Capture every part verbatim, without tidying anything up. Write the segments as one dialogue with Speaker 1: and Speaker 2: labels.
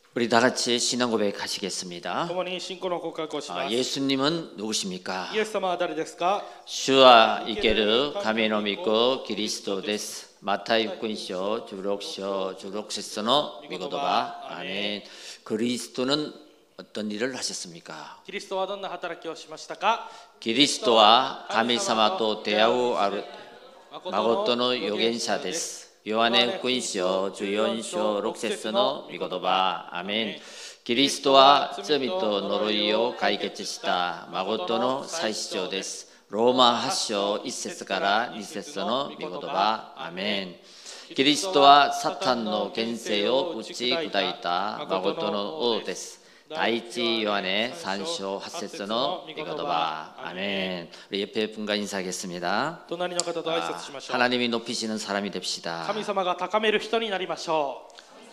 Speaker 1: 우리 다 같이 신앙 고백 하시겠습니다.
Speaker 2: 共に信仰の告白をしま
Speaker 1: 아,
Speaker 2: す。
Speaker 1: 예수님은 누구십니까?
Speaker 2: イエス様は誰ですか？
Speaker 1: 주와 이케르 가메노 믿고 그리스도 데스. 마타이 육군쇼 주록쇼 주록세서노 미고도바. 아멘. 그리스도는 어떤 일을 하셨습니까?
Speaker 2: キリストはどんな働きをしましたか？
Speaker 1: 그리스도와 가미사마또 대하우 아르 마고토노 요겐샤 데스. 요한의福音書じゅうよん章ろく節の御言葉。アメン。キリストは罪と呪いを解決した誠の祭司長です。ローマはち章いち節からに節の御言葉。アメン。キリストはサタンの権勢を打ち砕いた誠の王です。第一ヨハネさん章はち節の御言葉。アメン。우리 옆에 분과 인사하겠습니다.
Speaker 2: 隣の方と挨拶しましょう。
Speaker 1: 하나님이 높이시는 사람이 됩시다.
Speaker 2: 神様が高める人になりましょ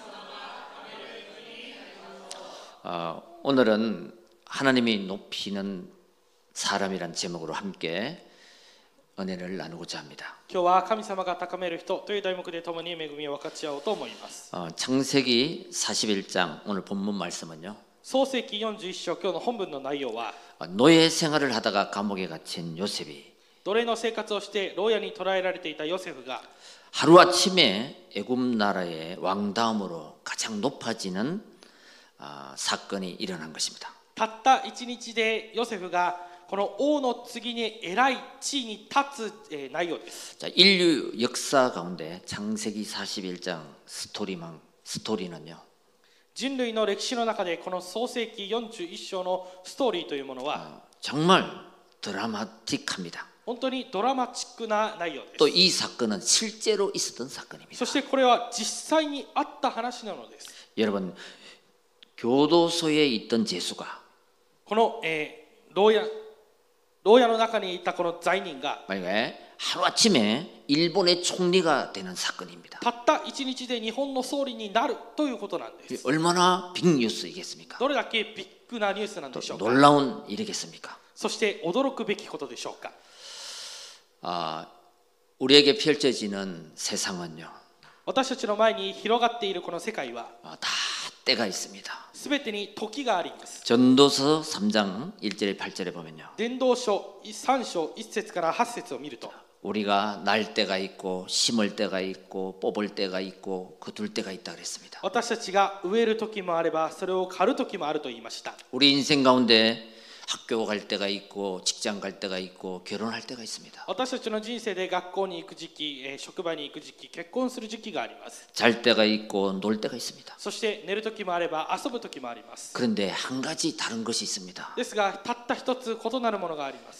Speaker 2: う。
Speaker 1: 어, 오늘은 하나님이 높이는 사람이란 제목으로 함께 은혜를 나누고자 합니다.
Speaker 2: 今日は神様が高める人という題目で共に恵みを分かち合おうと思います。
Speaker 1: 어, 창세기 사십일 장 오늘 본문 말씀은요.
Speaker 2: 創世記よんじゅういち章、今日の本文の内容は
Speaker 1: 노예 생활을 하다가 감옥에 갇힌 요셉이
Speaker 2: 奴隷の生活をして牢屋に捕らえられていたヨセフが
Speaker 1: 하루아침에 애굽 나라의 왕다음으로 가장 높아지는 어, 사건이 일어난 것입니다.
Speaker 2: たった一日でヨセフがこの王の次に偉い地位に立つ、えー、内容です。
Speaker 1: 자, 인류 역사 가운데 창세기 사십일 장 스토리만 스토리는요.
Speaker 2: 人類の歴史の中でこの創世記よんじゅういち章のストーリーというものは
Speaker 1: 정말 드라마틱합니다.
Speaker 2: 本当にドラマチックな内容です。
Speaker 1: 또 이 사건은 실제로 있었던 사건입니다.
Speaker 2: そしてこれは実際にあった話なのです。
Speaker 1: 여러분 교도소에 있던 제수가
Speaker 2: この、えー、牢屋牢屋の中にいたこの罪人が
Speaker 1: 만약에 하루아침에 일본의 총리가 되는 사건입니다.
Speaker 2: たった一日で日本の総理になるということなんです。
Speaker 1: 얼마나 빅뉴스이겠습니까?
Speaker 2: どれだけビッグなニュースなんでしょうか。
Speaker 1: 놀라운 일이겠습니까?
Speaker 2: そして驚くべきことでしょうか。
Speaker 1: 아, 우리에게 펼쳐지는 세상은요.
Speaker 2: 私たちの前に広がっているこの世界は
Speaker 1: 아, 다 때가 있습니다.
Speaker 2: すべてに時があります。
Speaker 1: 전도서 삼 장 일 절에 팔 절에 보면요.
Speaker 2: 伝道書さん章いち節からはち節を見ると
Speaker 1: 우리가 날 때가 있고 심을 때가 있고 뽑을 때가 있고 거둘 때가 있다 그랬습니다.
Speaker 2: 私たちが植える時もあればそれを刈る時もあると言いました。
Speaker 1: 우리 인생 가운데 학교 갈 때가 있고 직장 갈 때가 있고 결혼할 때가 있습니다.
Speaker 2: 私たちの人生で学校に行く時期、えー職場に行く時期、結婚する時期があります。
Speaker 1: 잘 때가 있고 놀 때가 있습니다.
Speaker 2: そして寝る時もあれば遊ぶ時もあります。
Speaker 1: 그런데 한 가지 다른 것이 있습니다.
Speaker 2: ですがたった一つ異なるものがあります。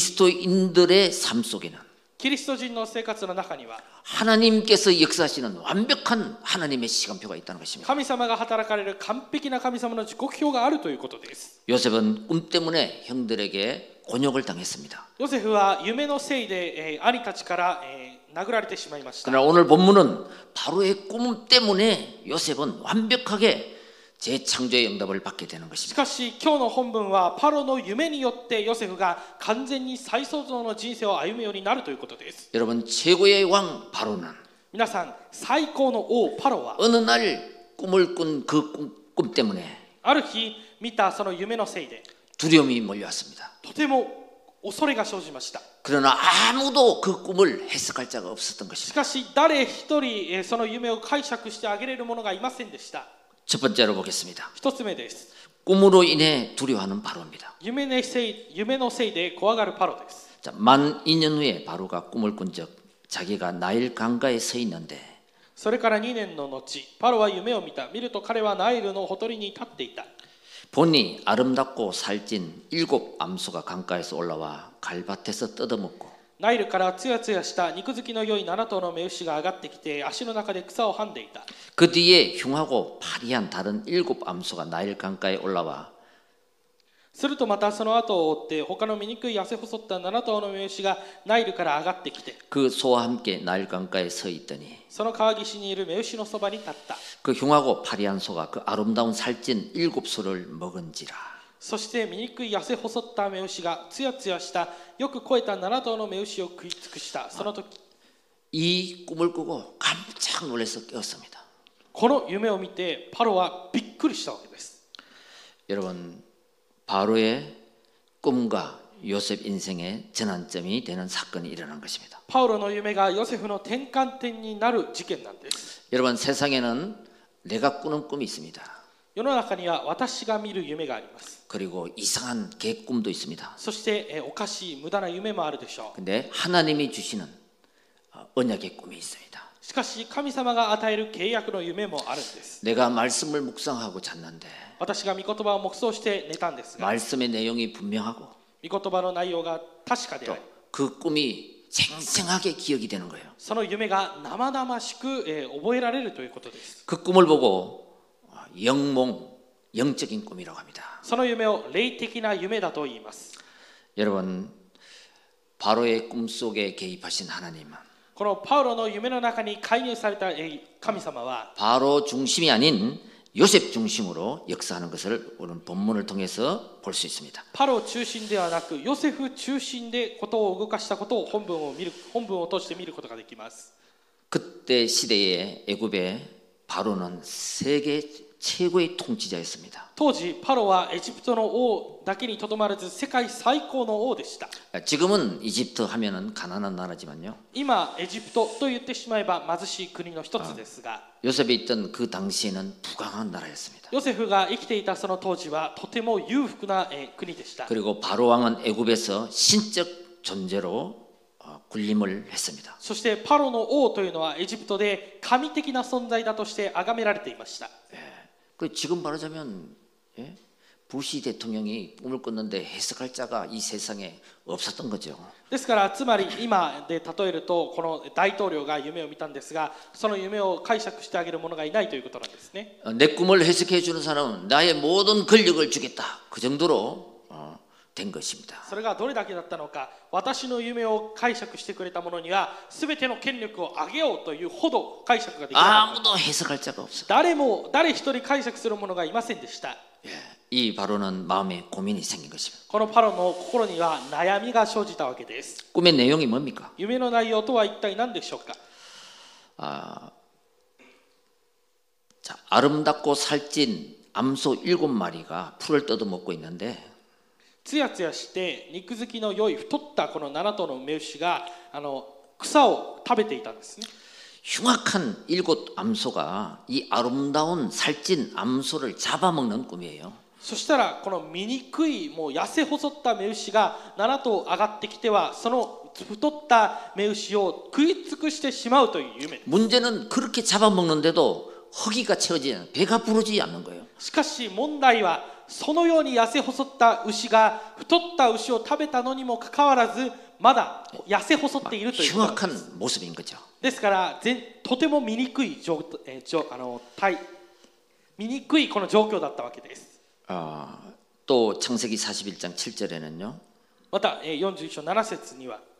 Speaker 1: 그리스도인들의 삶 속에는
Speaker 2: キリスト人の生活の中には
Speaker 1: 하나님께서 역사하시는 완벽한 하나님의 시간표가 있다는 것입니다.
Speaker 2: 神様が働かれる完璧な神様の時刻表があるということです。
Speaker 1: 요셉은 꿈 때문에 형들에게 곤욕을 당했습니다.
Speaker 2: ヨセフは夢のせいで、えー兄たちから、えー殴られてしまいました。
Speaker 1: 그러나 오늘 본문은 바로의 꿈 때문에 요셉은 완벽하게 재창조의 응답을 받게 되는
Speaker 2: し
Speaker 1: 것입니다.
Speaker 2: かし今日の本文はパロの夢によってヨセフが完全に再創造の人生を歩むようになるということです。
Speaker 1: 여러분 최고의 왕 바로는
Speaker 2: 皆さん、最高の王パロは
Speaker 1: 어느 날 꿈을 꾼 그 꿈, 꿈 때문에
Speaker 2: ある日見たその夢のせいで
Speaker 1: 두려움이 몰려왔습니다.
Speaker 2: とても恐れが生じました。
Speaker 1: 그러나 아무도 그 꿈을 해석할 자가 없었던
Speaker 2: し
Speaker 1: 것입니다.
Speaker 2: かし誰一人えーその夢を解釈してあげれる者がいませんでした。
Speaker 1: 첫 번째로 보겠습니다.
Speaker 2: 一つ目です。
Speaker 1: 꿈으로 인해 두려워하는 바로입니다.
Speaker 2: 夢のせい、夢のせいで怖がるパロです。
Speaker 1: 자, 만 이 년 후에 바로가 꿈을 꾼 적 자기가 나일 강가에 서 있는데
Speaker 2: それからにねんの後、パロは夢を見た。見ると彼はナイルのほとりに立っていた。
Speaker 1: 보니 아름답고 살찐 일곱 암소가 강가에서 올라와 갈밭에서 뜯어먹고
Speaker 2: ナイルからつやつやした肉付きの良いなな頭の目牛が上がってきて足の中で草をはんでいた。
Speaker 1: 그 뒤에 흉하고 파리한 다른 일곱 암소가 나일 강가에 올라와
Speaker 2: するとまたその後を追って他の醜い痩せ細ったなな頭の目牛がナイルから上がってきて
Speaker 1: 그 소와 함께 나일 강가에 서 있더니
Speaker 2: その川岸にいる目牛のそばに立った。
Speaker 1: 그 흉하고 파리한 소가 그 아름다운 살찐 일곱 소를 먹은지라.
Speaker 2: そして醜い痩せ細った目牛がつやつやしたよく肥えたなな頭の目牛を食い尽くした。その時
Speaker 1: 이 꿈을 꾸고 깜짝 놀라서 깨었습니다.
Speaker 2: この夢を見てパロはびっくりしたわけです。
Speaker 1: 여러분, 바로의 꿈과 요셉 인생의 전환점이 되는 사건이 일어난 것입니다.
Speaker 2: パウロの夢がヨセフの転換点になる事件なんです。
Speaker 1: 여러분, 세상에는 내가 꾸는 꿈이 있습니다.
Speaker 2: 世の中には私が見る夢があります。
Speaker 1: 그리고 이상한 계꿈도 있습니다.
Speaker 2: そしてえおかしい無駄な夢もあるでしょう。
Speaker 1: 근데 하나님이 주시는 언약의 꿈이 있습니다.
Speaker 2: しかし神様が与える契約の夢もあるんです。
Speaker 1: 내가 말씀을 묵상하고 잤는데
Speaker 2: 私が御言葉を黙想して寝たんですが、
Speaker 1: 말씀의 내용이 분명하고
Speaker 2: 御言葉の内容が確かであり、
Speaker 1: 그 꿈이 생생하게 기억이 되는 거예요.
Speaker 2: その夢が生々しく、えー覚えられるということです。
Speaker 1: 그 꿈을 보고 영몽, 영적인 꿈이라고 합니다.
Speaker 2: その夢を霊的な夢だと言います。
Speaker 1: 여러분, 바로의 꿈 속에 개입하신 하나님은
Speaker 2: このパウロの夢の中に介入された神様は
Speaker 1: 바로 중심이 아닌 요셉 중심으로 역사하는 것을 오늘 본문을 통해서 볼 수 있습니다.
Speaker 2: パロ中心ではなくヨセフ中心でことを動かしたことを本文を見る本文を通して見ることができます。
Speaker 1: 그때 시대의 애굽의 바로는 세계 최고의 통치자였습니다.
Speaker 2: 当時パロはエジプトの王だけにとどまらず世界最高の王でした。
Speaker 1: 지금은 이집트 하면은 가난한 나라지만요.
Speaker 2: 今エジプトと言ってしまえば貧しい国の一つですが、
Speaker 1: 요셉이 있던 그 당시에는 부강한 나라였습니다.
Speaker 2: ヨセフが生きていたその当時はとても裕福なえ国でした。
Speaker 1: 그리고 바로 왕은 애굽에서 신적 존재로 군림을 했습니다.
Speaker 2: そしてパロの王というのはエジプトで神的な存在だとして崇められていました。
Speaker 1: 그 지금 말하자면 예? 부시 대통령이 꿈을 꿨는데 해석할 자가 이 세상에 없었던 거죠.
Speaker 2: ですからつまり今で例えるとこの大統領が夢を見たんですが、その夢を解釈してあげる者がいないということなんですね。
Speaker 1: 내 꿈을 해석해 주는 사람은 나의 모든 권력을 주겠다. 그 정도로 어, 된 것입니다.
Speaker 2: それがどれだけだったのか、私の夢を解釈してくれた者には全ての権力を上げようというほど解釈ができなかった。
Speaker 1: 아무도 해석할 자가 없어.
Speaker 2: 誰も誰一人解釈する者がいませんでした。
Speaker 1: 예, 이 바로는 마음에 고민이 생긴 것입니다.
Speaker 2: このパロの心には悩みが生じたわけです。
Speaker 1: 꿈의 내용이 뭡니까?
Speaker 2: 夢の内容とは一体何でしょうか。
Speaker 1: 아, 자, 아름답고 살찐 암소 일곱 마리가 풀을 뜯어먹고 있는데
Speaker 2: つやつやして肉付きの良い太ったこのなな頭の雌牛があの草を食べていたんですね。
Speaker 1: 흉악한 일곱 암소가 이 아름다운 살찐 암소를 잡아먹는 꿈이에요.
Speaker 2: そしたらこの醜いもう痩せ細った雌牛がなな頭上がってきてはその太った雌牛を食い尽くしてしまうという夢です。
Speaker 1: 문제는 그렇게 잡아먹는데도 허기가 채워지지 배가 부르지 않는 거예요.
Speaker 2: しかし問題はそのように痩せ細った牛が太った牛を食べたのにもかかわらずまだ痩せ細っているということなんです。
Speaker 1: 흉악한 모습인 거죠.
Speaker 2: ですから全とても醜い状、えー、状あの体醜いこの状況だったわけです。
Speaker 1: 아, 또 창세기 사십일 장 칠 절에는요.
Speaker 2: またえーよんじゅういっ章なな節には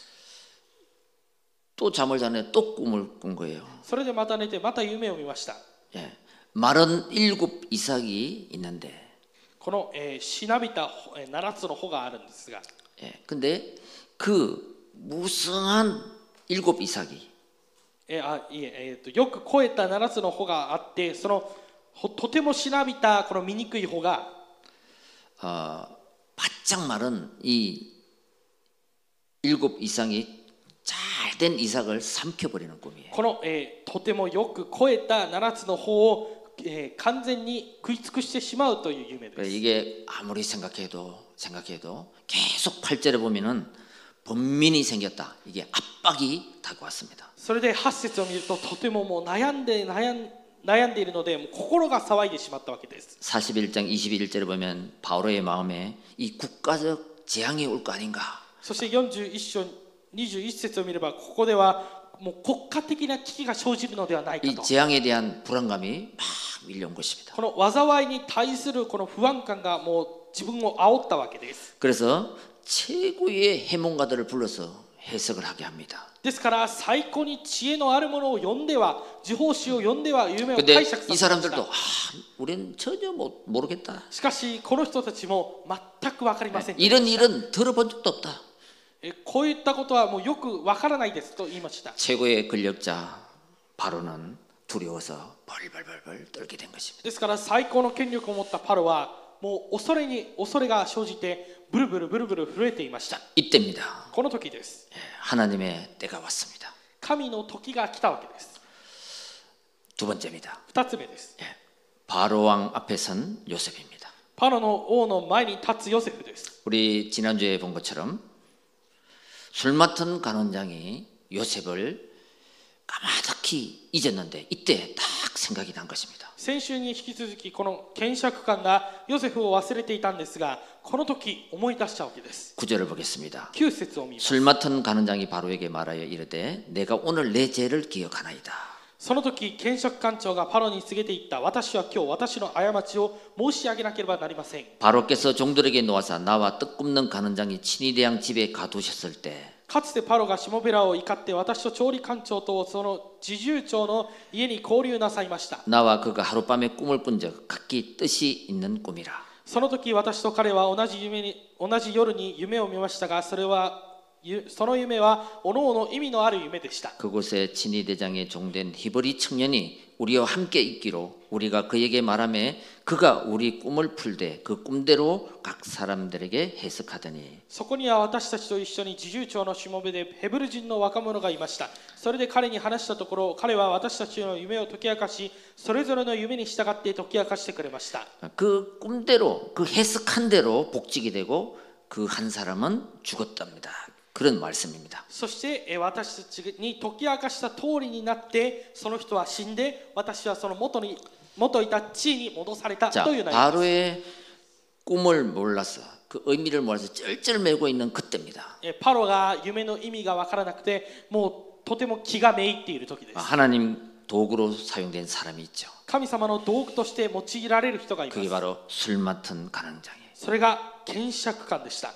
Speaker 1: 또 잠을 자네 또 꿈을 꾼 거예요.
Speaker 2: それでまた寝てまた夢を見ました。
Speaker 1: 예, 마른 일곱 이삭이 있는데
Speaker 2: この、えー、しなびたえーななつの穂があるんですが、
Speaker 1: 예, 근데 그 무성한 일곱 이삭이
Speaker 2: えーあいええー、とよく肥えたななつの穂があって、そのほとてもしなびたこの醜い穂が
Speaker 1: 어, 바짝 마른 이 일곱 이삭이 잘된 이삭을 삼켜버리는 꿈이에요.
Speaker 2: この、えーとてもよく肥えたななつの穂を、えー完全に食い尽くしてしまうという夢です。
Speaker 1: 이게 아무리 생각해도 생각해도 계속 팔 절에 보면은 번민이 생겼다. 이게 압박이 다가왔습니다.
Speaker 2: それではち節を見るととてももう悩んで悩ん悩んでいるのでもう心が騒いでしまったわけです。
Speaker 1: 사십일 장 이십일 절에 보면 바로의 마음에 이 국가적 재앙이 올 거 아닌가.
Speaker 2: そしてよんじゅういっ章にじゅういち節を見ればここではもう国家的な危機が生じるのではないか
Speaker 1: 이
Speaker 2: と。
Speaker 1: 재앙에 대한 불안감이 막 밀려온 것입니다.
Speaker 2: この災いに対するこの不安感がもう自分を煽ったわけです。
Speaker 1: 그래서 최고의 해몽가들을 불러서 해석을 하게 합니다.
Speaker 2: ですから最高に知恵のあるものを呼んでは呪法師を呼んでは夢を
Speaker 1: 근데
Speaker 2: 解釈さ
Speaker 1: 이
Speaker 2: せまし
Speaker 1: 사람들도
Speaker 2: た。
Speaker 1: 아, 우리는 전혀 못, 모르겠다.
Speaker 2: しかしこの人たちも全く分かりませんでした。
Speaker 1: 이런 일은 들어본 적도 없다.
Speaker 2: えこういったことはもうよく分からないですと言いました。
Speaker 1: 최고의 권력자 바로는 두려워서 벌벌벌벌 떨게 된 것입니다.
Speaker 2: ですから最高の権力を持ったパロはもう恐れに恐れが生じてブルブルブルブル震えていました。
Speaker 1: 이때입니다.
Speaker 2: この時です。
Speaker 1: 예, 하나님의 때가 왔습니다.
Speaker 2: 神の時が来たわけです。
Speaker 1: 두 번째입니다.
Speaker 2: 二つ目です。
Speaker 1: 예, 바로 왕 앞에 선 요셉입니다.
Speaker 2: パロの王の前に立つヨセフです。
Speaker 1: 우리 지난주에 본 것처럼 술 맡은 간원장이 요셉을 까마득히 잊었는데 이때 딱 생각이 난 것입니다.
Speaker 2: 先週に引き続きこの検釈官がヨセフを忘れていたんですが、この時思い出したわけです。
Speaker 1: 구 절을 보겠습니다.
Speaker 2: きゅう節を見ます。
Speaker 1: 술 맡은 간원장이 바로에게 말하여 이르되 내가 오늘 내 죄를 기억하나이다.
Speaker 2: その時検釈官長がパロに告げていった。私は今日私の過ちを申し上げなければなりません。
Speaker 1: 바로께서 종들에게 놓아서 나와 떡 굽는 간원장이 친위 대왕 집에 가두셨을 때
Speaker 2: かつてパロがしもべらを怒って私と調理官長とその侍従長の家に交流なさいました。
Speaker 1: 나와 그가 하룻밤에 꿈을 꾼 적 각기 뜻이 있는 꿈이라.
Speaker 2: その時私と彼は同じ夢に同じ夜に夢を見ましたが、それはその夢はおのおの意味のある夢でした。
Speaker 1: 그곳에 친위 대장의 종된 히브리 청년이 우리와 함께 있기로 우리가 그에게 말하매 그가 우리 꿈을 풀되 그 꿈대로 각 사람들에게 해석하더니
Speaker 2: そこには私たちと一緒に侍従長のしもべでヘブル人の若者がいました。それで彼に話したところ、彼は私たちの夢を解き明かし、それぞれの夢に従って解き明かしてくれました。
Speaker 1: 그 꿈대로 그 해석한 대로 복직이 되고 그 한 사람은 죽었답니다. 그런 말씀입니다.
Speaker 2: そして私たちに解き明かした通りになって、その人は死んで、私はその元に元いた地位に戻された
Speaker 1: 자,
Speaker 2: という内容です。
Speaker 1: 바로의 꿈을 몰라서 그 의미를 몰라서 쩔쩔매고 있는 그때입니다.
Speaker 2: パロが夢の意味が分からなくて、もうとても気がめいっている時です。
Speaker 1: 하나님 도구로 사용된 사람이 있죠.
Speaker 2: 神様の道具として用いられる人がいま
Speaker 1: 그게
Speaker 2: す。
Speaker 1: 바로 술 맡은 간원장이에요.
Speaker 2: それが検釈官でした。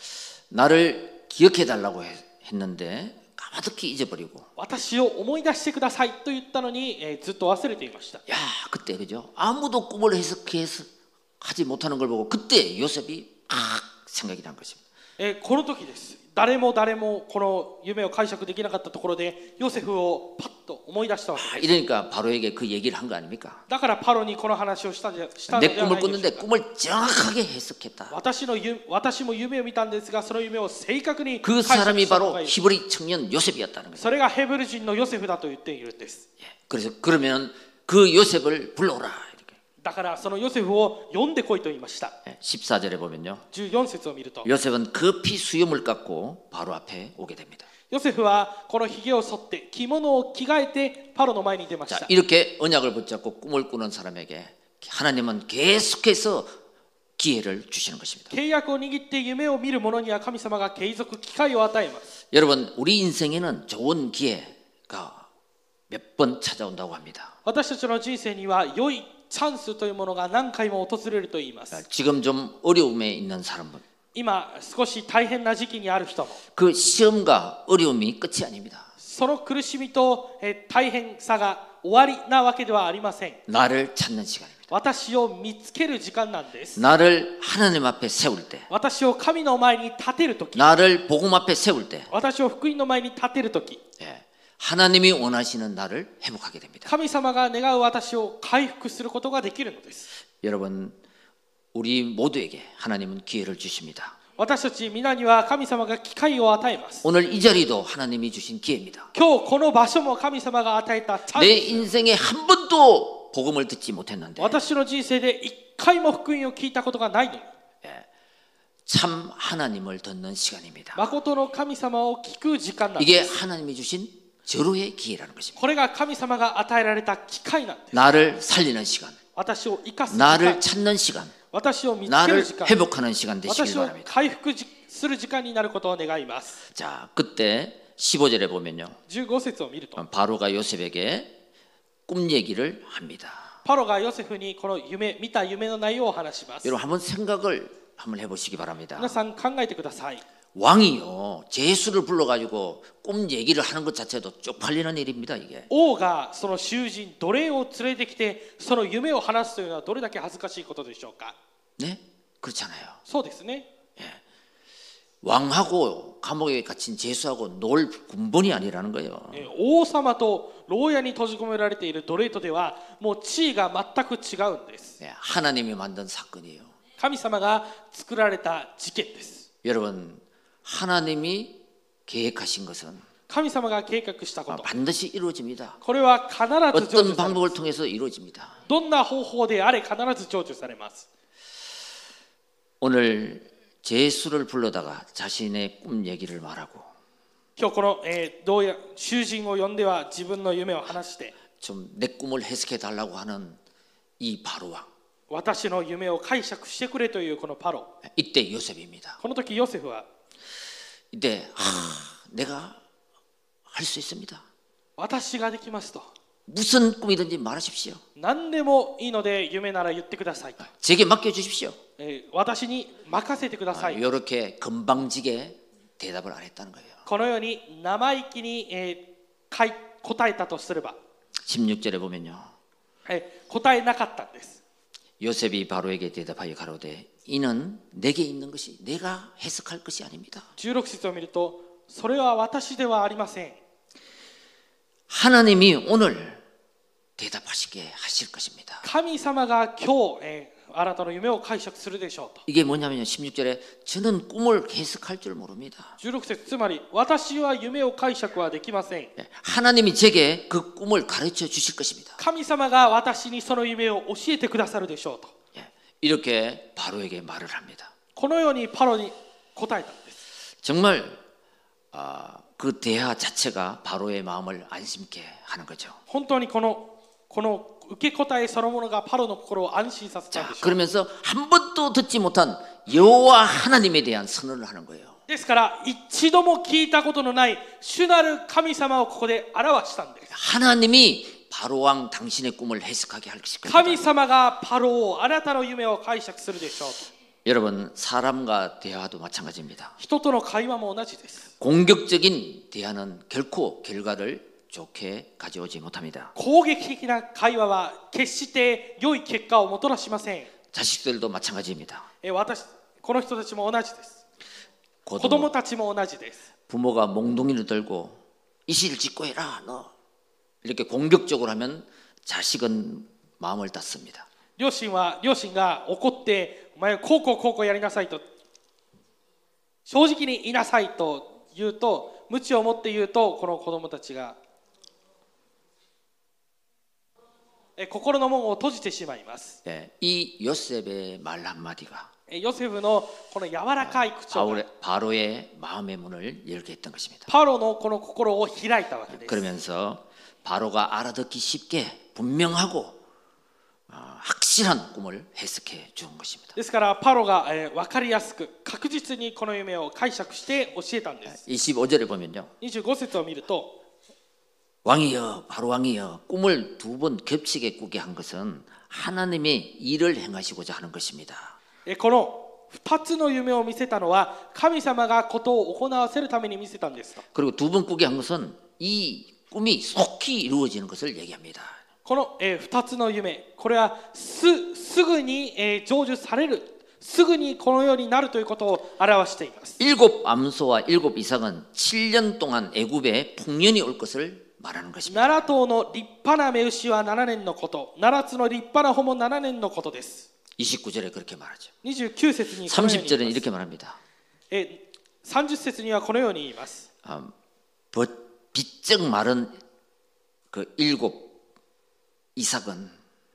Speaker 1: 나를 기억해 달라고 했는데 까마득히 잊어버리고.
Speaker 2: 私を思い出してくださいと言ったのに、えー、ずっと忘れていました。
Speaker 1: 야, 그때 그죠? 아무도 꿈을 해석해서 하지 못하는 걸 보고 그때 요셉이 아 생각이 난 것입니다.
Speaker 2: えー、この時です。誰も誰もこの夢を解釈できなかったところでヨセフをパッと思い出したわけ
Speaker 1: 아,
Speaker 2: です。
Speaker 1: 이러니까 바로에게 그 얘기를 한 거 아닙니까?
Speaker 2: だからパロにこの話をしたんじゃしたの
Speaker 1: 내
Speaker 2: では
Speaker 1: 꿈을
Speaker 2: ないでしょ
Speaker 1: 꿨는데
Speaker 2: うか。
Speaker 1: 꿈을 정확하게 해석했다.
Speaker 2: 私のゆ私も夢を見たんですが、その夢を正確に
Speaker 1: 그
Speaker 2: 解釈
Speaker 1: 사람이
Speaker 2: したの
Speaker 1: 바로
Speaker 2: がいる。
Speaker 1: 히브리 청년 요셉이었다는 거죠.
Speaker 2: それがヘブル人のヨセフだと言っているんです。
Speaker 1: 예, 그래서 그러면 그 요셉을 불러오라 이렇게.
Speaker 2: だからそのヨセフを呼んでこいと言いました。
Speaker 1: 예, 십사 절에 보면요.
Speaker 2: じゅうよん節を見ると、
Speaker 1: 요셉은 급히 수염을 깎고 바로 앞에 오게 됩니다.
Speaker 2: ヨセフはこのひげを剃って着物を着替えてパロの前に出まし
Speaker 1: 자,
Speaker 2: た。
Speaker 1: 이렇게 언약을 붙잡고 꿈을 꾸는 사람에게 하나님은 계속해서 기회를 주시는 것입니다.
Speaker 2: 契約を握って夢を見る者には神様が継続機会を与えます。
Speaker 1: 여러분, 우리 인생에는 좋은 기회가 몇 번 찾아온다고 합니다.
Speaker 2: 私たちの人生には良いチャンスというものが何回も訪れると言いま
Speaker 1: 자,
Speaker 2: す。
Speaker 1: 지금 좀 어려움에 있는 사람은
Speaker 2: 今少し大変な時期にある人も、
Speaker 1: 그 시험과 어려움이 끝이 아닙니다.
Speaker 2: その苦しみとえ大変さが終わりなわけではありません。
Speaker 1: 나를 찾는 시간입니다.
Speaker 2: 私を見つける時間なんです。
Speaker 1: 나를 하나님 앞에 세울 때,
Speaker 2: 私を神の前に立てるとき、
Speaker 1: 나를 복음 앞에 세울 때,
Speaker 2: 私を福音の前に立てるとき、
Speaker 1: 예, 하나님이 원하시는 나를 회복하게 됩니다.
Speaker 2: 神様が願う私を回復することができるのです。
Speaker 1: 여러분, 우리 모두에게 하나님은 기회를 주십니다.
Speaker 2: 私たち皆には神様が機会を与えます。
Speaker 1: 오늘 이 자리도 하나님이 주신 기회입니다.
Speaker 2: 今日この場所も神様が与えたチャン
Speaker 1: 내
Speaker 2: ス。
Speaker 1: 인생에 한 번도 복음을 듣지 못했는데
Speaker 2: 私の人生で一回も福音を聞いたことがないのに、
Speaker 1: 참 하나님을 듣는 시간입니다.
Speaker 2: 誠の神様を聞く時間なん
Speaker 1: 이게
Speaker 2: です。
Speaker 1: 하나님이 주신 절호의 기회라는 것입니다.
Speaker 2: これが神様が与えられた機会なんです。
Speaker 1: 나를 살리는 시간,
Speaker 2: 私を生かす時
Speaker 1: 나를
Speaker 2: 間、
Speaker 1: 찾는 시간,
Speaker 2: 私を見つける
Speaker 1: 나를
Speaker 2: 時間、
Speaker 1: 회복하는 시간 되시길
Speaker 2: 私を
Speaker 1: 바랍니다.
Speaker 2: 回復する時間になることを願います。
Speaker 1: 자, 그때 십오 절에 보면요,
Speaker 2: じゅうご節を見ると、
Speaker 1: 바로가 요셉에게 꿈 얘기를 합니다.
Speaker 2: パロがヨセフにこの夢、見た夢の内容を話します。
Speaker 1: 여러분 한번 생각을 한번 해보시기 바랍니다.
Speaker 2: 皆さん考えてください。
Speaker 1: 왕이요, 제수를 불러가지고 꿈 얘기를 하는 것 자체도 쪽팔리는 일입니다. 이게.
Speaker 2: 王がその囚人奴隷を連れてきてその夢を話すというのはどれだけ恥ずかしいことでしょうか。
Speaker 1: 네, 그렇잖아요.
Speaker 2: そうですね。
Speaker 1: 왕하고 감옥에 갇힌 죄수하고 놀 군번이 아니라는 거예요.
Speaker 2: えー王様と牢屋に閉じ込められている奴隷とではもう地位が全く違うんです。
Speaker 1: 예, 하나님이 만든 사건이에요.
Speaker 2: 神様が作られた事件です。
Speaker 1: 여러분, 하나님이 계획하신 것은
Speaker 2: 神様が計画したこと、
Speaker 1: 반드시 이루어집니다.
Speaker 2: これは必ず成就
Speaker 1: 어떤
Speaker 2: されま
Speaker 1: 방법을
Speaker 2: す。
Speaker 1: 통해서 이루어집니다.
Speaker 2: どんな方法であれ必ず成就されます。
Speaker 1: 오늘 제수를 불러다가 자신의 꿈 얘기를 말하고
Speaker 2: 今日この、えー、どうや囚人を呼んでは自分の夢を話して
Speaker 1: 좀 내 꿈을 해석해 달라고 하는 이 바로왕.
Speaker 2: 私の夢を解釈してくれというこのパロ。
Speaker 1: 이때 요셉입니다.
Speaker 2: この時ヨセフは
Speaker 1: 이때 아, 내가 할 수 있습니다.
Speaker 2: 私ができますと。
Speaker 1: 무슨 꿈이든지 말하십시오.
Speaker 2: 何でもいいので夢なら言ってくださいと。
Speaker 1: 제게 맡겨 주십시오.
Speaker 2: えー私に任せてください。
Speaker 1: 이렇게 건방지게 대답을 안 했다는 거예요.
Speaker 2: このように生意気に、えーかい答えたとすれば、
Speaker 1: 십육 절에 보면요.
Speaker 2: えー答えなかったんです。
Speaker 1: 요셉이 바로에게 대답하여 가로되 이는 내게 있는 것이 내가 해석할 것이 아닙니다.
Speaker 2: じゅうろく節を見ると、それは私ではありません。
Speaker 1: 하나님이 오늘 대답하시게 하실 것입니다.
Speaker 2: 神様が今日、えーあなたの夢を解釈するでしょうと。
Speaker 1: 이게 뭐냐면요. 십육 절에 저는 꿈을 해석할 줄 모릅니다.
Speaker 2: じゅうろく節、つまり私は夢を解釈はできません。
Speaker 1: 하나님이 제게 그 꿈을 가르쳐 주실 것입니다.
Speaker 2: 神様が私にその夢を教えてくださるでしょうと。
Speaker 1: 이렇게 바로에게 말을 합니다.
Speaker 2: このようにパロに答えたんです。
Speaker 1: 정말 아, 그 대화 자체가 바로의 마음을 안심케 하는 거죠.
Speaker 2: 本当にこのこの受け答えそのものがパロの心を安心させたん
Speaker 1: 자,
Speaker 2: でしょう。
Speaker 1: 그러면서 한 번도 듣지 못한 여호와 하나님에 대한 선언을 하는 거예요.
Speaker 2: ですから一度も聞いたことのない主なる神様をここで表したんです。
Speaker 1: 하나님이 바로 왕 당신의 꿈을 해석하게 할 것입니다.
Speaker 2: 神様がパロをあなたの夢を解釈するでしょうと。
Speaker 1: 여러분, 사람과 대화도 마찬가지입니다.
Speaker 2: 人との会話も同じです。
Speaker 1: 공격적인 대화는 결코 결과를 좋게 가져오지 못합니다.
Speaker 2: 攻撃的な会話は決して良い結果をもたらしません。
Speaker 1: 자식들도 마찬가지입니다.
Speaker 2: え私この人たちも同じです。 子
Speaker 1: 고도
Speaker 2: 供たちも同じです。
Speaker 1: 부모가 몽둥이를 들고 이실 짓고 해라 너 이렇게 공격적으로 하면 자식은 마음을 닫습니다.
Speaker 2: 両親は両親が怒ってお前こうこうこうこうやりなさいと正直に言いなさいと言うと鞭を持って言うとこの子供たちがえ心の門を閉じてしまいます。
Speaker 1: 예, 이 요셉의 말 한마디가
Speaker 2: えヨセフのこの柔らかい口調が
Speaker 1: 바울의, 바로의 마음의 문을 열게 했던 것입니다.
Speaker 2: パロのこの心を開いたわけです。
Speaker 1: 그러면서 바로가 알아듣기 쉽게 분명하고 어, 확실한 꿈을 해석해 준 것입니다.
Speaker 2: ですからパロが、えー、分かりやすく確実にこの夢を解釈して教えたんです。
Speaker 1: 이십오 절에 보면요.
Speaker 2: にじゅうご節を見ると
Speaker 1: 왕이여 바로 왕이여 꿈을 두 번 겹치게 꾸게 한 것은 하나님의 일을 행하시고자 하는 것입니다.
Speaker 2: このふたつの夢を見せたのは神様がことを行わせるために見せたんですと。
Speaker 1: 그리고 두 번 꾸게 한 것은 이 꿈이 속히 이루어지는 것을 얘기합니다.
Speaker 2: この、えー、ふたつの夢これは す, すぐに、えー、成就されるすぐにこのようになるということを表しています。
Speaker 1: 일곱 암소와 일곱 이삭은 칠 년 동안 애굽에 풍년이 올 것을 말하는 것입니다.
Speaker 2: なな頭の立派な雌牛はななねんのことななつの立派な穂もななねんのことです。
Speaker 1: 이십구 절에 그렇게 말하죠.
Speaker 2: にじゅうきゅう節にこのように
Speaker 1: 삼십 절은
Speaker 2: 言います。
Speaker 1: 이렇게 말합니다.
Speaker 2: えさんじゅう節にはこのように言います。
Speaker 1: 아, 비쩍 마른 그 일곱 이삭은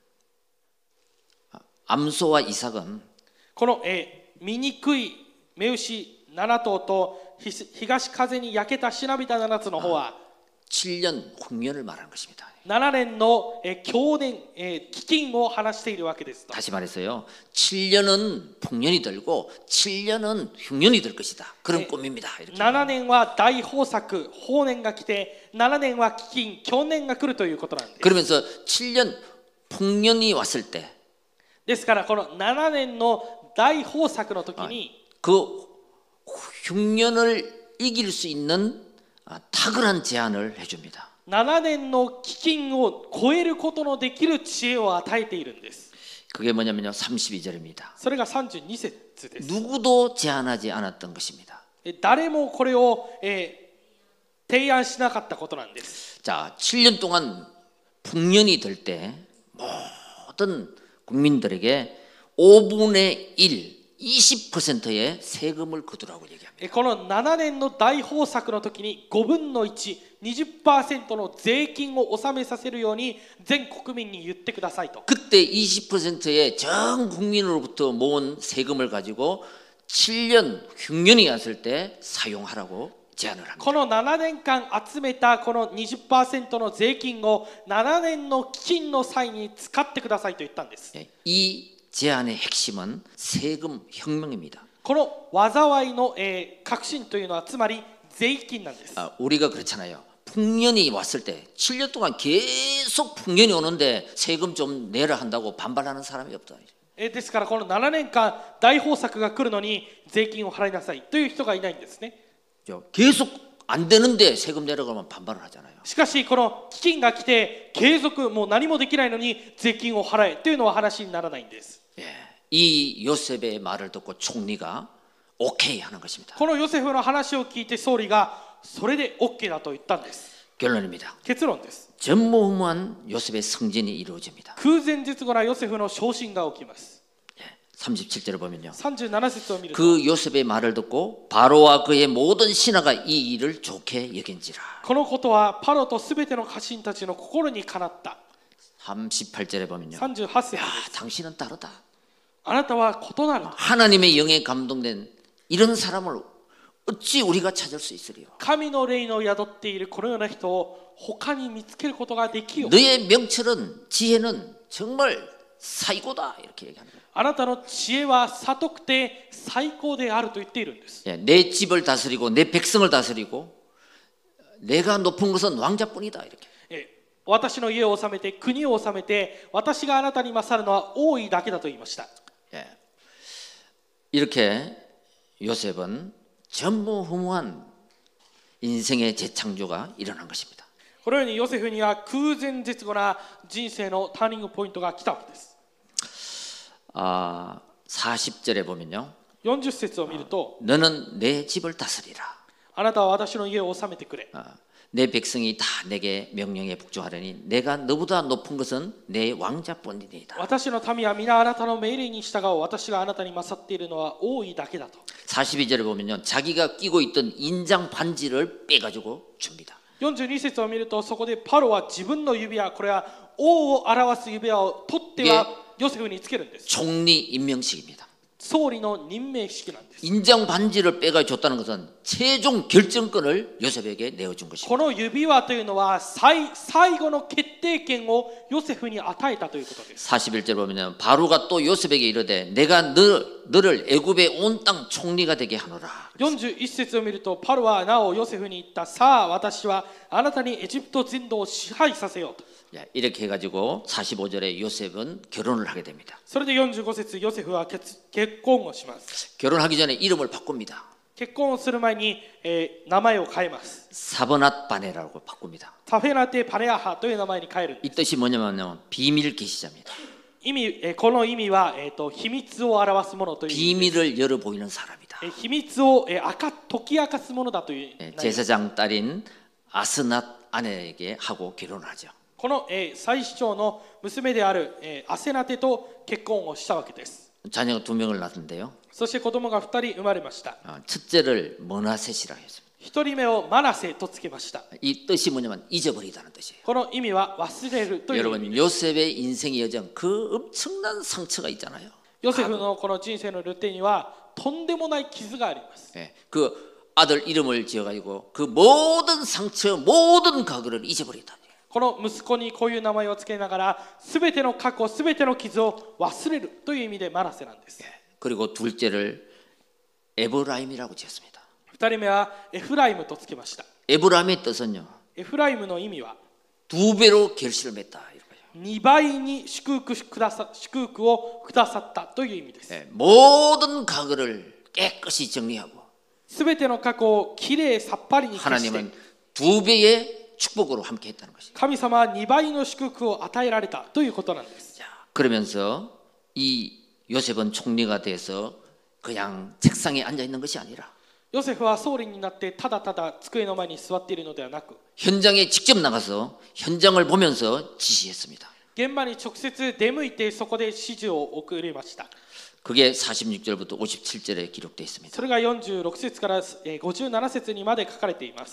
Speaker 1: 암소와 이삭은
Speaker 2: この、えー、醜い雌牛なな頭とひ東風に焼けたしなびたななつの方は
Speaker 1: 칠 년 홍련을 말하는 것입니다.
Speaker 2: ななねんの、えー、強年、えー、飢饉を話しているわけですと。
Speaker 1: 다시 말해서요. 칠 년은 풍년이 들고 칠 년은 흉년이 될 것이다. 그런
Speaker 2: 네.
Speaker 1: 꿈입니다. 이렇게.
Speaker 2: ななねんは大豊作、豊年が来て、ななねんは飢饉、強年が来るということなんです。
Speaker 1: 그러면서 칠 년 풍년이 왔을 때
Speaker 2: ですからこのななねんの大豊作の時に、
Speaker 1: 그 흉년을 이길 수 있는 탁월한 제안을 해줍니다.
Speaker 2: ななねんの飢饉を超えることのできる知恵を与えているんです。
Speaker 1: 그게 뭐냐면요. 삼십이 절입니다.
Speaker 2: それがさんじゅうに節です。
Speaker 1: 누구도 제안하지 않았던 것입니다.
Speaker 2: え誰もこれを、えー提案しなかったことなんです。
Speaker 1: 자, 칠 년 동안 풍년이 될 때 모든 국민들에게 오분의 일, 이십 퍼센트의 세금을 거두라고 얘기합니다.
Speaker 2: えこのななねんの大豊作の時にごぶんのいち、にじゅっパーセント の税金を納めさせるように全国民に言ってくださいと。
Speaker 1: 그때 이십 퍼센트의 전 국민으로부터 모은 세금을 가지고 칠 년 흉년이 왔을 때 사용하라고 제안을 합니다.
Speaker 2: このななねんかん集めたこの にじゅっパーセント の税金をななねんの金の際に使ってくださいと言ったんです。
Speaker 1: 이 제안의 핵심은 세금 혁명입니다.
Speaker 2: この災いの、えー革新というのはつまり税金なんです。
Speaker 1: 아, 우리가 그렇잖아요. 풍년이 왔을 때 칠 년 동안 계속 풍년이 오는데 세금 좀 내라 한다고 반발하는 사람이 없다.
Speaker 2: えーですからこのななねんかん大豊作が来るのに税金を払いなさいという人がいないんですね。
Speaker 1: 계속 안 되는데 세금 내라고 하면 반발을 하잖아요.
Speaker 2: しかしこの基金が来て継続もう何もできないのに税金を払えというのは話にならないんです。
Speaker 1: 예, 이 요셉의 말을 듣고 총리가 오케이 하는 것입니다.
Speaker 2: このヨセフの話を聞いて総理がそれで OK だと言ったんです。
Speaker 1: 결론입니다.
Speaker 2: 結論です。
Speaker 1: 전무후무한 요셉의 승진이 이루어집니다.
Speaker 2: 空前絶後なヨセフの昇進が起きます。
Speaker 1: 삼십칠 절을 보면요.
Speaker 2: さんじゅうなな節を見ると
Speaker 1: 그 요셉의 말을 듣고 바로와 그의 모든 신하가 이 일을 좋게 여긴지라.
Speaker 2: このことはパロとすべての家臣たちの心にかなった。
Speaker 1: 삼십팔 절에 보면요.
Speaker 2: さんじゅうはち節
Speaker 1: 야, 당신은 다르다.
Speaker 2: あなたは異なる。
Speaker 1: 하나님의 영에 감동된 이런 사람을 어찌 우리가 찾을 수 있으리요?
Speaker 2: 神の霊の宿っているこのような人を他に見つけることができよう。
Speaker 1: 너의 명철은 지혜는 정말 사이고다 이렇게 얘기하는 거예요.
Speaker 2: あなたの知恵は悟くて最高であると言っているんです。
Speaker 1: 예, 내 집을 다스리고 내 백성을 다스리고 내가 높은 것은 왕자뿐이다 이렇게.
Speaker 2: え私の家を治めて国を治めて私があなたに勝るのは王位だけだと言いました。
Speaker 1: 예. 이렇게 요셉은 전무후무한 인생의 재창조가 일어난 것입니다.
Speaker 2: このようにヨセフには空前絶後な人生のターニングポイントが来たわけです。
Speaker 1: 아, 사십 절에 보면요.
Speaker 2: よんじゅう節を見ると
Speaker 1: 너는 내 집을 다스리라.
Speaker 2: あなたは私の家を治めてくれ。
Speaker 1: 아, 내 백성이 다 내게 명령에 복종하려니 내가 너보다 높은 것은 내 왕자뿐이니이다.
Speaker 2: 私の民は皆あなたの命令に従おう。私があなたに勝っているのは王位だけだと。
Speaker 1: 사십이 절에 보면요. 자기가 끼고 있던 인장 반지를 빼가지고 줍니다.
Speaker 2: よんじゅうに節を見るとそこでパロは自分の指輪、これは王を表す指輪を取ってはヨセフにつけるんです。
Speaker 1: 총리 임명식입니다.
Speaker 2: 総理の任命式なんです。
Speaker 1: 인장 반지를 빼가 줬다는 것은 최종 결정권을 요셉에게 내어준 것입니다.
Speaker 2: この指輪というのは 最, 最後の決定権をヨセフに与えたということです。
Speaker 1: 사십일 절 보면 바로가 또 요셉에게 이르되 내가 너, 너를 애굽의 온 땅 총리가 되게 하노라.
Speaker 2: よんじゅういち節を見るとパロはなおヨセフに言った。さあ私はあなたにエジプト全土を支配させようと。
Speaker 1: 이렇게 해가지고 사십오 절에 요셉은 결혼을 하게 됩니다.
Speaker 2: それでよんじゅうご節ヨセフは 結, 結婚をします。
Speaker 1: 결혼하기 전에 이름을 바꿉니다.
Speaker 2: 結婚をする前に、えー名前を変えます。
Speaker 1: 사버낫 바네라고 바꿉니다.
Speaker 2: タフェナテ・パネアハという名前に変えるんです。
Speaker 1: 이 뜻이 뭐냐면요 비밀 계시자입니다.
Speaker 2: 意味、えーこの意味は、えーと秘密を表すものという意味です。
Speaker 1: 비밀을 열어 보이는 사람이다.
Speaker 2: えー秘密を、えー明か解き明かすものだという。
Speaker 1: 예, 제사장 딸인 아스낫 아내에게 하고 결혼을 하죠.
Speaker 2: この、えー祭司長の娘である、えーアセナテと結婚をしたわけです。
Speaker 1: 자녀가 두 명을 낳았는데요.
Speaker 2: そして子供がふたり生まれました。
Speaker 1: 어, 첫째를 머나셋이라 했습니다.
Speaker 2: 一人目をマナセとつけました。
Speaker 1: 이 뜻이 뭐냐면 잊어버리다는 뜻이에요.
Speaker 2: この意味は忘れるという意味
Speaker 1: 여러분
Speaker 2: です。
Speaker 1: 요셉의 인생의 여정 그 엄청난 상처가 있잖아요.
Speaker 2: ヨセフのこの人生のルテにはとんでもない傷があります。
Speaker 1: 예, 그 아들 이름을 지어가지고 그 모든 상처 모든 과거를 잊어버리다.
Speaker 2: この息子にこういう名前をつけながらすべての過去すべての傷を忘れるという意味でマナセなんです。
Speaker 1: 예, 그리고 둘째를 에브라임이라고 지었습니다.
Speaker 2: 二人目はエフライムとつけました。
Speaker 1: 에브라임의 뜻은요
Speaker 2: エフライムの意味は
Speaker 1: 두 배로 결실을 맺다 이거예요.
Speaker 2: にばいに祝福くださ祝福をくださったという意味です。
Speaker 1: 예, 모든 과거를 깨끗이 정리하고
Speaker 2: すべての過去をきれいさっぱりに消して
Speaker 1: 하나님은 두 배의 축복으로 함께했다는 것이죠.
Speaker 2: 神様はにばいの祝福を与えられたということなんです。
Speaker 1: 자, 그러면서 이 요셉은 총리가 돼서 그냥 책상에 앉아 있는 것이 아니라
Speaker 2: ヨセフは総理になってただただ机の前に座っているのではなく
Speaker 1: 현장에 직접 나가서 현장을 보면서 지시했습니다.
Speaker 2: 現場に直接出向いてそこで指示を送りました。
Speaker 1: 그게 사십육 절부터 오십칠 절에 기록되어 있습니다.
Speaker 2: それがよんじゅうろく節からごじゅうなな節にまで書かれています。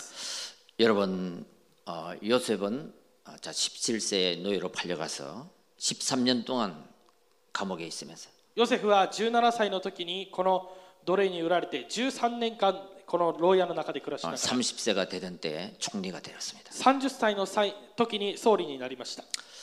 Speaker 1: 여러분, 어, 요셉은 어, 자, 십칠 세에 노예로 팔려가서 십삼 년 동안 감옥에 있으면서
Speaker 2: ヨセフはじゅうななさいの時にこの奴隷に売られてじゅうさんねんかんこの牢屋の中で暮らしな
Speaker 1: 어,
Speaker 2: がら
Speaker 1: 삼십 세가 되던 때에 총리가 되었습니다.
Speaker 2: さんじゅっさいの際時に総理になりました。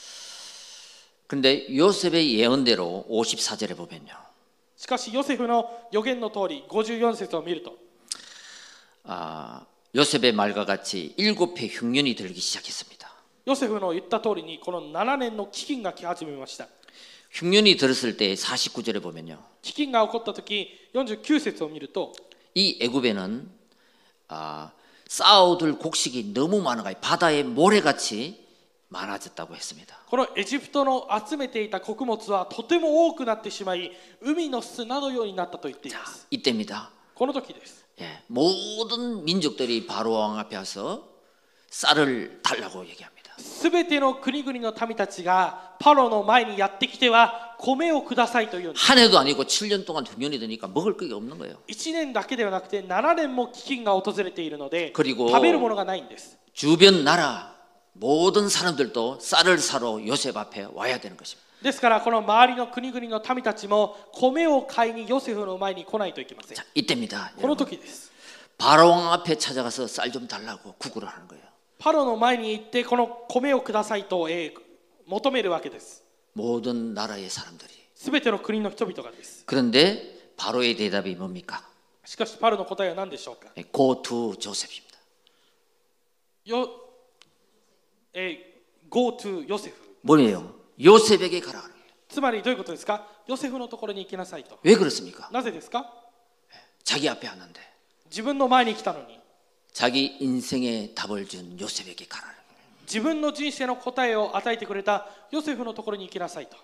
Speaker 1: 근데 요셉의 예언대로 오십사 절에 보면요.
Speaker 2: しかしヨセフの予言の通りごじゅうよん節を見ると
Speaker 1: 아, 요셉의 말과 같이 일곱 해 흉년이 들기 시작했습니다.
Speaker 2: ヨセフの言った通りにこのななねんの飢饉が来始めました。
Speaker 1: 흉년이 들었을 때 사십구 절에 보면요.
Speaker 2: 飢饉が起こった時よんじゅうきゅう節を見ると
Speaker 1: 이 애굽에는 아, 쌓아둘 곡식이 너무 많아가지고 바다의 모래같이 많아졌다고 했습니다.
Speaker 2: このエジプトの集めていた穀物はとても多くなってしまい海の砂のようになったと言っています。
Speaker 1: 이때입니다.
Speaker 2: この時です。
Speaker 1: 예, 모든 민족들이 바로 왕 앞에 와서 쌀을 달라고 얘기합니다.
Speaker 2: すべての国々の民たちがパロの前にやってきては米をくださいと言うんです。
Speaker 1: 한 해도 아니고 칠 년 동안 흉년이 드니까 먹을 게 없는 거예요.
Speaker 2: いちねんだけではなくてななねんも飢饉が訪れているので
Speaker 1: 그리고
Speaker 2: 食べるものがないんです。
Speaker 1: 주변 나라 모든 사람들도 쌀을 사러 요셉 앞에 와야 되는 것입니다.
Speaker 2: ですからこの周りの国々の民たちも米を買いにヨセフの前に来ないといけません。
Speaker 1: 자, 이때입니다.
Speaker 2: この
Speaker 1: 여러분.
Speaker 2: 時です。
Speaker 1: 바로 왕 앞에 찾아가서 쌀 좀 달라고 구걸을 하는 거예요.
Speaker 2: パロの前に行ってこの米をくださいと、えー、求めるわけです。
Speaker 1: 모든 나라의 사람들이.
Speaker 2: すべての国の人々がです。
Speaker 1: 그런데 바로의 대답이 뭡니까?
Speaker 2: しかしパロの答えは何でしょうか。
Speaker 1: Go to 조셉입니다.
Speaker 2: よ、えー、Go to ヨセフ。
Speaker 1: 뭐예요? 요셉에게 가라.
Speaker 2: つまりどういうことですか。ヨセフのところに行きなさいと。
Speaker 1: 왜 그렇습니까?
Speaker 2: なぜですか。
Speaker 1: 자기 앞에 왔는데
Speaker 2: 自分の前に来たのに
Speaker 1: 자기 인생의 답을 준 요셉에게 가라.
Speaker 2: 自分の人生の答えを与えてくれたヨセフのところに行きなさいと。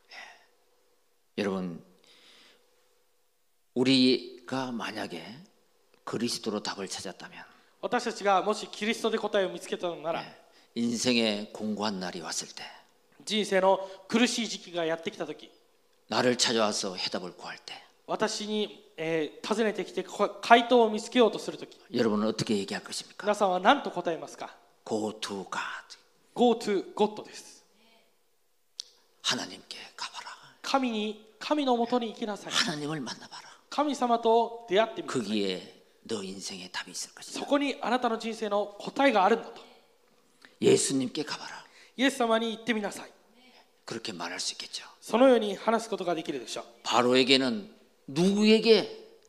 Speaker 1: 여러분, 우리가 만약에 그리스도로 답을 찾았다면
Speaker 2: 私たちがもしキリストで答えを見つけたのなら、
Speaker 1: 인생의 공고한 날이 왔을 때
Speaker 2: 人生の苦しい時期がやってきたとき、
Speaker 1: 나를 찾아와서 해답을 구할 때
Speaker 2: 私に、えー、訪ねてきて回答を見つけようとするとき、
Speaker 1: 여러분은 어떻게 얘기할 것입니까?
Speaker 2: 皆さんは何と答えますか。
Speaker 1: Go to God.
Speaker 2: Go to God です。
Speaker 1: 하나님께 가봐라.
Speaker 2: 神に神のもとに行きなさい。
Speaker 1: 하나님을 만나봐라.
Speaker 2: 神様と出会ってみてください。
Speaker 1: 거기에 너 인생의 답이 있을
Speaker 2: そ
Speaker 1: 것이다.
Speaker 2: こにあなたの人生の答えがあるんだと。
Speaker 1: 예수님께 가봐라.
Speaker 2: イエス様に行ってみなさい。
Speaker 1: 그렇게 말할 수 있겠죠.
Speaker 2: そのように話すことができるでしょう。
Speaker 1: 바로에게는 누구에게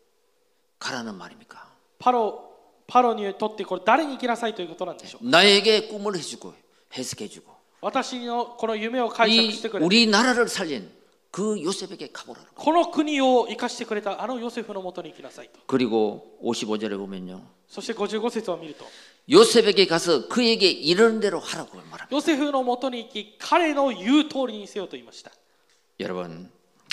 Speaker 1: 가라는 말입니까?
Speaker 2: パロ、パロにとってこれ誰に行きなさいということなんでしょう。
Speaker 1: 나에게 꿈을 해주고 해석해주고
Speaker 2: 私のこの夢を解釈し
Speaker 1: 이
Speaker 2: てくれて、
Speaker 1: 우리나라를 살린 그 요셉에게 가보라는 거예요.
Speaker 2: この国を生かしてくれたあのヨセフのもとに行きなさいと。
Speaker 1: 그리고 오십오 절에 보면요.
Speaker 2: そしてごじゅうご節を見ると、
Speaker 1: 요셉에게 가서 그에게 이런 대로 하라고 말합니다.
Speaker 2: ヨセフのもとに行き彼の言う通りにせよと言いました。
Speaker 1: 여러분,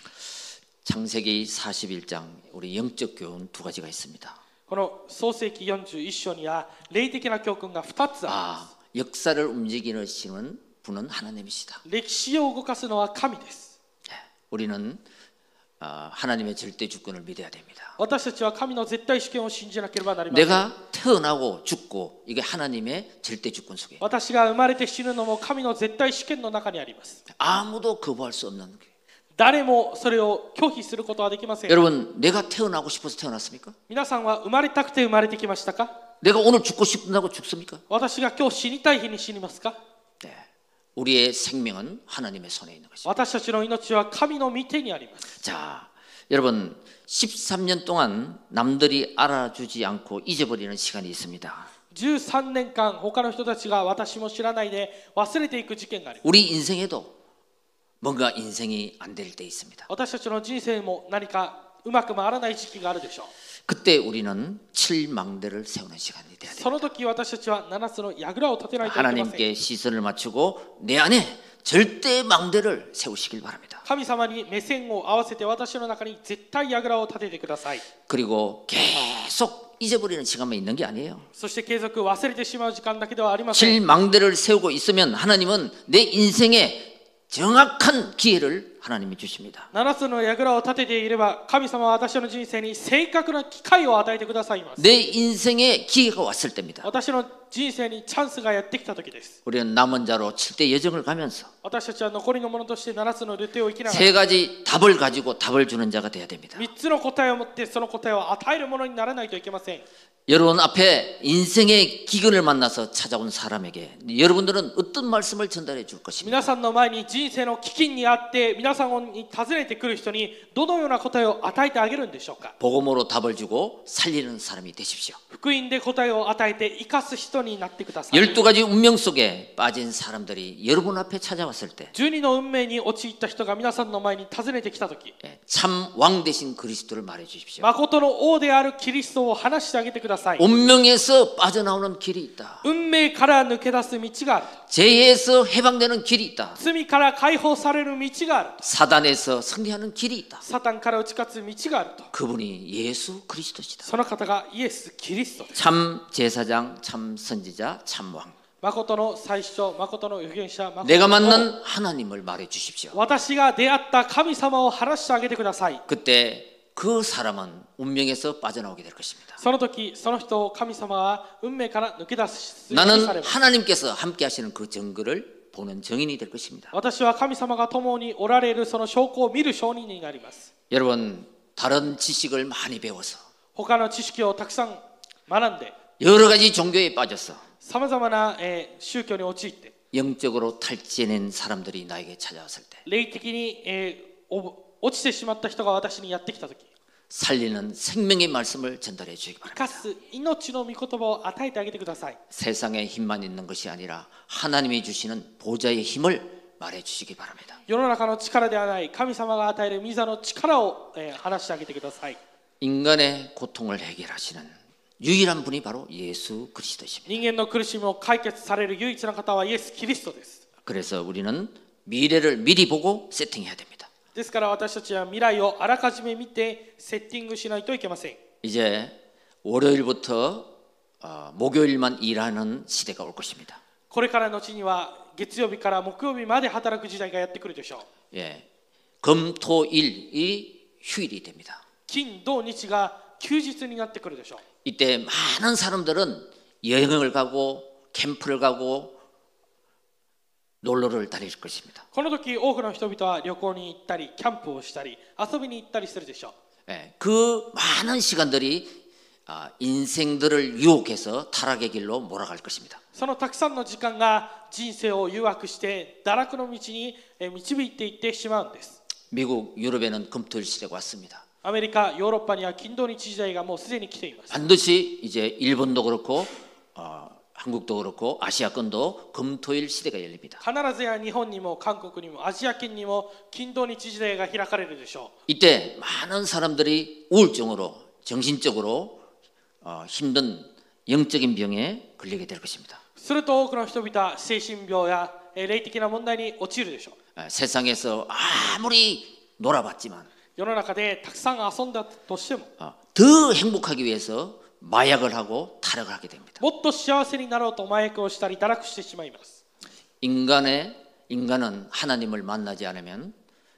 Speaker 1: 창세기 사십일 장 우리 영적 교훈 두 가지가 있습니다.
Speaker 2: この創世記よんじゅういっ章には霊的な教訓がふたつあ
Speaker 1: 아, 역사를 움직이시는 분은 하나님이시다.
Speaker 2: る。歴史を動かすのは神です。
Speaker 1: 우리는 아, 하나님의 절대 주권을 믿어야 됩니다.
Speaker 2: 私たちは神の絶対主権を信じなければなりません。
Speaker 1: 내가 태어나고 죽고 이게 하나님의 절대 주권 속에
Speaker 2: 私が生まれて死ぬのも神の絶対主権の中にあります。
Speaker 1: 아무도 거부할 수 없는 게.
Speaker 2: 誰もそれを拒否することはできません。
Speaker 1: 여러분, 내가 태어나고 싶어서 태어났습니까?
Speaker 2: 皆さんは生まれたくて生まれてきましたか。
Speaker 1: 내가 오늘 죽고 싶다고 죽습니까?
Speaker 2: 私が今日死にたい日に死にますか。
Speaker 1: 네. 우리의 생명은 하나님의 손에 있는 것입니다.
Speaker 2: 私たちの命は神の御手にあります。
Speaker 1: 자, 여러분, 십삼 년 동안 남들이 알아주지 않고 잊어버리는 시간이 있습니다.
Speaker 2: じゅうさんねんかん他の人たちが私も知らないで忘れていく事件があります。
Speaker 1: 우리 인생에도 뭔가 인생이 안 될 때 있습니다.
Speaker 2: 私たちの人生も何かうまく回らない時期があるでしょう。
Speaker 1: 그때 우리는 칠망대를 세우는 시간이 돼야 돼요.
Speaker 2: その時私たちはななつの櫓を立てないといけません。
Speaker 1: 하나님께 시선을 맞추고 내 안에 절대 망대를 세우시길 바랍니다.
Speaker 2: 神様に目線を合わせて私の中に絶対櫓を立ててください。
Speaker 1: 그리고 계속 잊어버리는 시간만 있는 게 아니에요.
Speaker 2: そして継続忘れてしまう時間だけではありません。
Speaker 1: 칠망대를 세우고 있으면 하나님은 내 인생에 정확한 기회를 하나님이 주십니다.
Speaker 2: ななつの櫓を立てていれば神様は私の人生に正確な機会を与えてくださいます。
Speaker 1: 내 인생에 기회가 왔을 때입니다.
Speaker 2: 私の人生にチャンスがやってきた時です。
Speaker 1: 우리는 남은 자로 칠대 여정을 가면서
Speaker 2: 私たちは残りのものとしてななつのルテを生きながら
Speaker 1: 세 가지 답을 가지고 답을 주는 자가 되어야 됩니다.
Speaker 2: みっつの答えを持ってその答えを与えるものにならないといけません。
Speaker 1: 여러분 앞에 인생의 기근을 만나서 찾아온 사람에게 여러분들은 어떤 말씀을 전달해 줄 것입니다.
Speaker 2: 皆さんの前に人生の飢饉にあって皆さんに訪ねてくる人にどのような答えを与えてあげるんでしょうか。
Speaker 1: 복음으로 답을 주고 살리는 사람이 되십시오.
Speaker 2: 福音で答えを与えて生かす人になってください。
Speaker 1: 열두 가지 운명 속에 빠진 사람들이 여러분 앞에 찾아왔을 때
Speaker 2: じゅうにの運命に陥った人が皆さんの前に訪ねてきたとき、
Speaker 1: 참 왕 되신 그리스도를 말해 주십시오.
Speaker 2: 誠の王であるキリストを話してあげてください。
Speaker 1: 운명에서 빠져나오는 길이 있다.
Speaker 2: 運命から抜け出す道がある。
Speaker 1: 죄에서 해방되는 길이 있다.
Speaker 2: 罪から解放される道がある。
Speaker 1: 사단에서 승리하는 길이 있다.
Speaker 2: サタンから打ち勝つ道があると。
Speaker 1: 그분이 예수 그리스도시다.
Speaker 2: その方がイエス・キリストです。
Speaker 1: 참 제사장, 참 선지자, 참 왕.
Speaker 2: 誠の最初、誠の預言者、誠
Speaker 1: 내가
Speaker 2: の王
Speaker 1: 만난 하나님을 말해 주십시오.
Speaker 2: 私が出会った神様を話してあげてください。
Speaker 1: 그때 그 사람은 운명에서 빠져나오게 될 것입니다.
Speaker 2: その時、その人を神様は運命から抜け出す。
Speaker 1: 나는
Speaker 2: されます。
Speaker 1: 하나님께서 함께 하시는 그 증거를 보는 증인이 될 것입니다.
Speaker 2: 私は神様が共におられるその証拠を見る証人になります。
Speaker 1: 여러분 다른 지식을 많이 배워서
Speaker 2: 他の知識をたくさん学んで、
Speaker 1: 여러 가지 종교에 빠져서
Speaker 2: さまざまな、えー宗教に陥って、
Speaker 1: 영적으로 탈진한 사람들이 나에게 찾아왔을 때
Speaker 2: 霊的に、えーお落ちてしまった人が私にやってきたとき、
Speaker 1: 살리는 생명의 말씀을 전달해 주시기
Speaker 2: 生
Speaker 1: 바랍니다.
Speaker 2: かす命の御言葉を与えてあげてください。
Speaker 1: 세상의 힘만 있는 것이 아니라 하나님이 주시는 보좌의 힘을 말해 주시기 바랍니다.
Speaker 2: 世の中の力ではない神様が与える御座の力を、えー話してあげてください。
Speaker 1: 인간의 고통을 해결하시는 유일한 분이 바로 예수 그리스도십니다.
Speaker 2: 人間の苦しみを解決される唯一の方はイエス・キリストです。
Speaker 1: 그래서 우리는 미래를 미리 보고 세팅해야 됩니다.
Speaker 2: ですから私たちは未来をあらかじめ見てセッティングしないといけません。
Speaker 1: 이제 월요일부터 어, 목요일만 일하는 시대가 올 것입니다.
Speaker 2: これから後には月曜日から木曜日まで働く時代がやってくるでしょう。
Speaker 1: 예, 금토일이 휴일이 됩니다.
Speaker 2: 金土日が休日になってくるでしょう。
Speaker 1: 이때 많은 사람들은 여행을 가고 캠프를 가고 놀러를 다닐 것입니다.
Speaker 2: この時多くの人々は旅行に行ったりキャンプをしたり遊びに行ったりするでしょう。
Speaker 1: 예, 그 많은 시간들이 아, 인생들을 유혹해서 타락의 길로 몰아갈 것입니다.
Speaker 2: そのたくさんの時間が人生を誘惑して堕落の道にえ導いていってしまうんです。
Speaker 1: 미국, 유럽에는 금토일 시대가 왔습니다.
Speaker 2: アメリカ、ヨーロッパには金土日時代がもうすでに来ています。
Speaker 1: 반드시 이제 일본도 그렇고 어, 한국도 그렇고 아시아권도 금토일 시대가 열립니다.
Speaker 2: 必ずや日本にも韓国にもアジア圏にも金土日時代が開かれるでしょう。
Speaker 1: 이때 많은 사람들이 우울증으로 정신적으로 어, 힘든 영적인 병에 걸리게 될 것입니다.
Speaker 2: すると多くの人々は精神病やえ霊的な問題に陥るでしょう。
Speaker 1: 에, 세상에서 아무리 놀아봤지만
Speaker 2: 世の中でたくさん遊んだとしても
Speaker 1: 어, 더 행복하기 위해서 마약을 하고 타락을 하게 됩니다.
Speaker 2: もっと幸せになろうと麻薬をしたり堕落してしまいます。
Speaker 1: 인간의 인간은 하나님을 만나지 않으면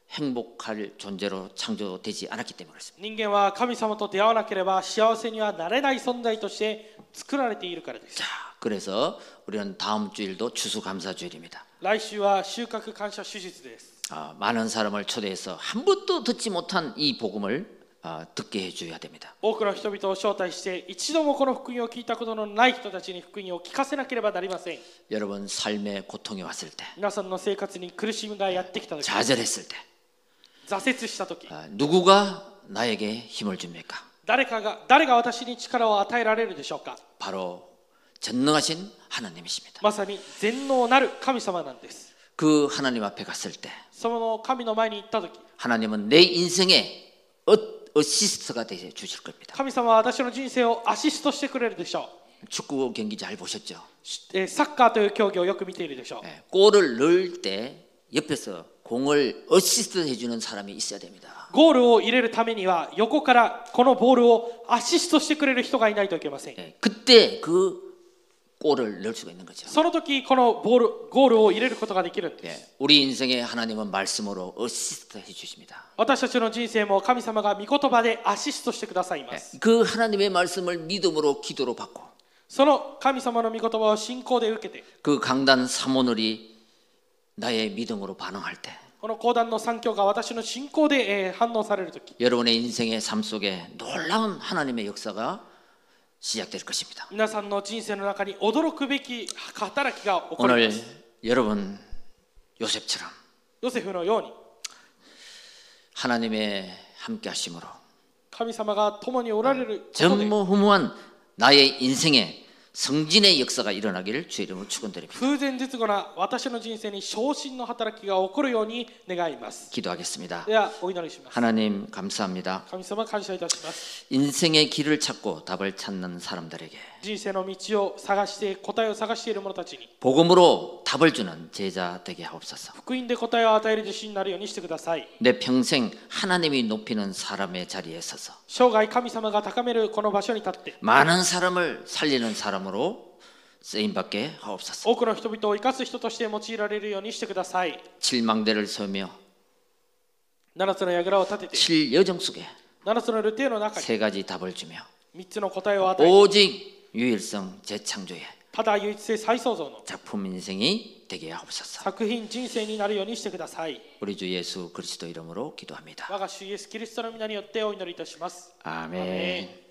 Speaker 1: 행복할 존재로 창조되지 않았기 때문에 그렇습니다.
Speaker 2: 人間は神様と出会わなければ幸せにはなれない存在として作られているからです。
Speaker 1: 자, 그래서 우리는 다음 주일도 추수감사주일입니다.
Speaker 2: 来週は収穫感謝手術です。
Speaker 1: 아, 많은 사람을 초대해서 한 번도 듣지 못한 이 복음을 아, 듣게 해줘야 됩니다.
Speaker 2: 多くの人々を招待して一度もこの福音を聞いたことのない人たちに福音を聞かせなければなりません。
Speaker 1: 여러분 삶에 고통이 왔을 때,
Speaker 2: 皆さんの生活に苦しみがやってきたとき、
Speaker 1: 좌절했을 때,
Speaker 2: 挫折したとき、
Speaker 1: 아, 누구가 나에게 힘을 줍니까?
Speaker 2: 誰かが誰が私に力を与えられるでしょうか。
Speaker 1: 바로 전능하신 하나님이십니다.
Speaker 2: まさに全能なる神様なんです。
Speaker 1: 그 하나님 앞에 갔을 때
Speaker 2: その神の前に行ったとき、
Speaker 1: 하나님은 내 인생에 어, 어시스트가 되 주실 겁니다.
Speaker 2: 神様は私の人生をアシストしてくれるでしょ
Speaker 1: 축구 경기 잘 보셨죠?
Speaker 2: う。えーサッカーという競技をよく見ているでしょう。
Speaker 1: 예, 골을 넣을 때 옆에서 공을 어시스트 해주는 사람이 있어야 됩니다.
Speaker 2: ゴールを入れるためには横からこのボールをアシストしてくれる人がいないといけません。
Speaker 1: 예, 그때 그 골을 넣을 수가 있는 거죠.
Speaker 2: その時このボールゴールを入れることができるんです。
Speaker 1: 예, 우리 인생에 하나님은 말씀으로 어시스트 해주십니다.
Speaker 2: 私たちの人生も神様が御言葉でアシストしてくださいま
Speaker 1: 예,
Speaker 2: す。
Speaker 1: 그 하나님의 말씀을 믿음으로 기도로 받고
Speaker 2: その神様の御言葉を信仰で受けて、
Speaker 1: 그 강단 사모늘이 나의 믿음으로 반응할 때
Speaker 2: この講談の三教が私の信仰でえー反応される時、
Speaker 1: 여러분의 인생의 삶 속에 놀라운 하나님의 역사가 시작될 것입니다.
Speaker 2: 皆さんの人生の中に驚くべき働きが起こり
Speaker 1: 오늘
Speaker 2: ます。
Speaker 1: 여러분 요셉처럼
Speaker 2: ヨセフのように
Speaker 1: 하나님의 함께 하심으로
Speaker 2: 神様が共におられることで、
Speaker 1: 전무후무한 나의 인생에 성진의 역사가 일어나기를 주의 이름으로 축원드립니다.
Speaker 2: 風前絶後な私の人生に昇進の働きが起こるように願います。
Speaker 1: 기도하겠습니다.
Speaker 2: ではお祈りします。
Speaker 1: 하나님 감사합니다.
Speaker 2: 神様感謝いたします。
Speaker 1: 인생의 길을 찾고 답을 찾는 사람들에게
Speaker 2: 人生の道を探して答えを探している者たちに
Speaker 1: 복음으로 답을 주는 제자 되게 하옵소서.
Speaker 2: 福音で答えを与える自信になるようにしてください。
Speaker 1: 내 평생 하나님이 높이는 사람의 자리에 서서
Speaker 2: 生涯神様が高めるこの場所に立って
Speaker 1: 많은 사람을 살리는 사람으로 쓰임받게 하옵소서.
Speaker 2: 多くの人々を生かす人として用いられるようにしてください。
Speaker 1: 칠망대를 서며
Speaker 2: 七つの櫓を立てて
Speaker 1: 칠여정 속에
Speaker 2: 七つのルテの中に
Speaker 1: 세 가지 답을 주며
Speaker 2: 三つの答えを与え
Speaker 1: 오직 유일성 재창조의
Speaker 2: ただ唯一性再創造の
Speaker 1: 작품 인생이 되게 하옵소서.
Speaker 2: 作品人生になるようにしてください。
Speaker 1: 우리 주 예수 그리스도 이름으로 기도합니다.
Speaker 2: 我が主イエスキリストの皆によってお祈りいたします。
Speaker 1: 아멘.